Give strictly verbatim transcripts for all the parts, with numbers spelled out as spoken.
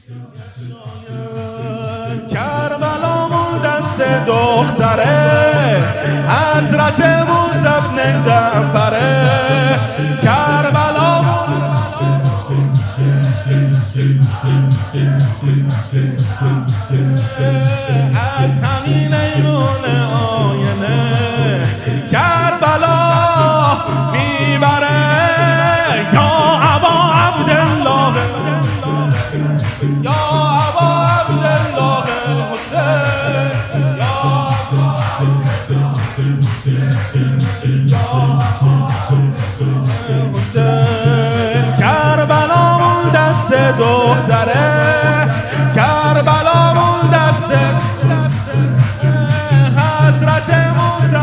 کربلامون دست دختره حضرت موسی بن جعفره. کربلامون از همین ایمون آینه کربلا میبره. یا ابا عبدالله یا ابا عبدالله الحسین یا حسین. کربلامون دست دختره کربلامون دست حضرت موسی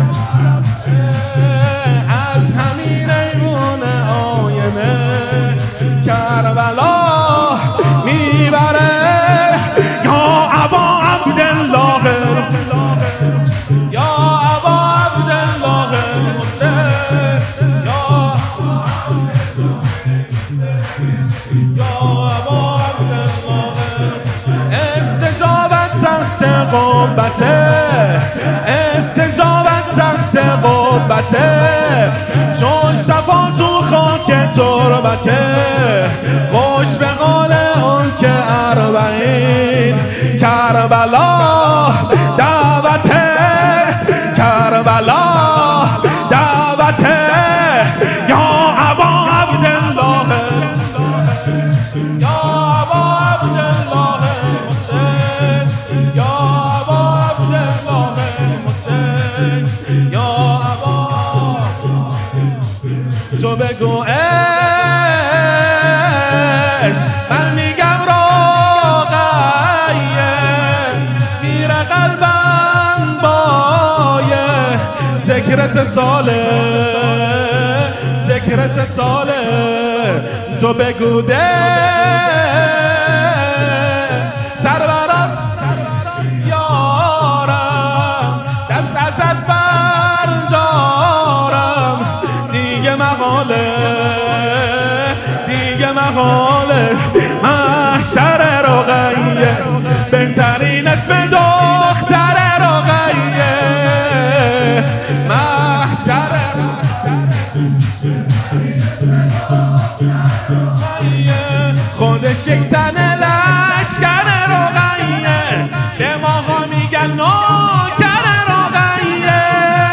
از همین ایمون آینه کربلا میبره. یا ابا عبدالله یا ابا عبدالله الحسین یا یا ابا عبدالله. استجابت تحت قبته استجابت تحت قبته چون شفا تو خاک تربته. خوش به قول اون که اربعین کربلا دعوته کربلا دعوته. یا ابا عبدالله یا ابا عبدالله حسین یا ابا عبدالله حسین یا ابا. تو بگو عشق من میگم روغیه میره قلبم بایه. ذکر سه ساله ذکر سه ساله. تو بگو ده سرورات یارم دست ازت بردارم. دیگه مقاله دیگه مقاله محشر رقیه بهترین اسم دختر رقیه. محشر خودش یک تن لشکر رقیه به ماها میگن نوکر رقیه.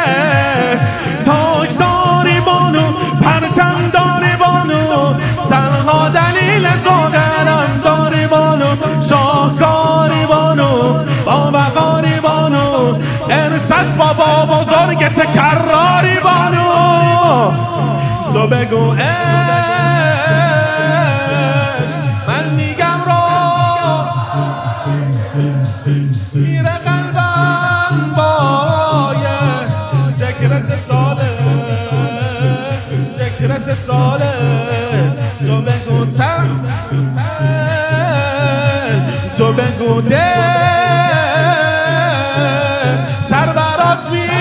تاج داری بانو پرچم داری بانو تنها دلیل زاغرم داری بانو. شاهکاری بانو بابقاری بانو ارسس بابا بزرگ تکراری بانو. تو بگو عشق من میگم رو میره قلبم بایه. ذکر سه ساله ذکر سه ساله. تو بگو تن تو بگو ده سر برات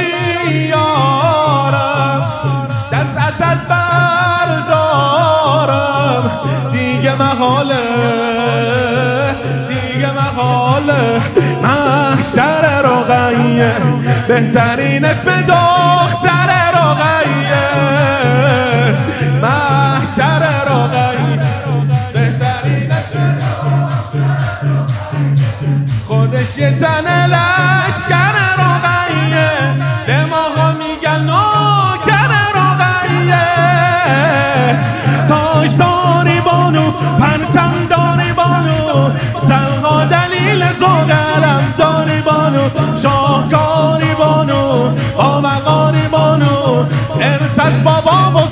میارم دست ازت بردارم. دیگه محاله دیگه محاله محشر رقیه بهترین اسم دختر رقیه. محشر رقیه بهترین اسم خودش یه تن لشکر رقیه به ماها میگن نوکر رقیه. تاج داری بانو پرچم داری بانو تنها دلیل زاغرم داری بانو. شاهکاری بانو بابقاری بانو ارسس بابا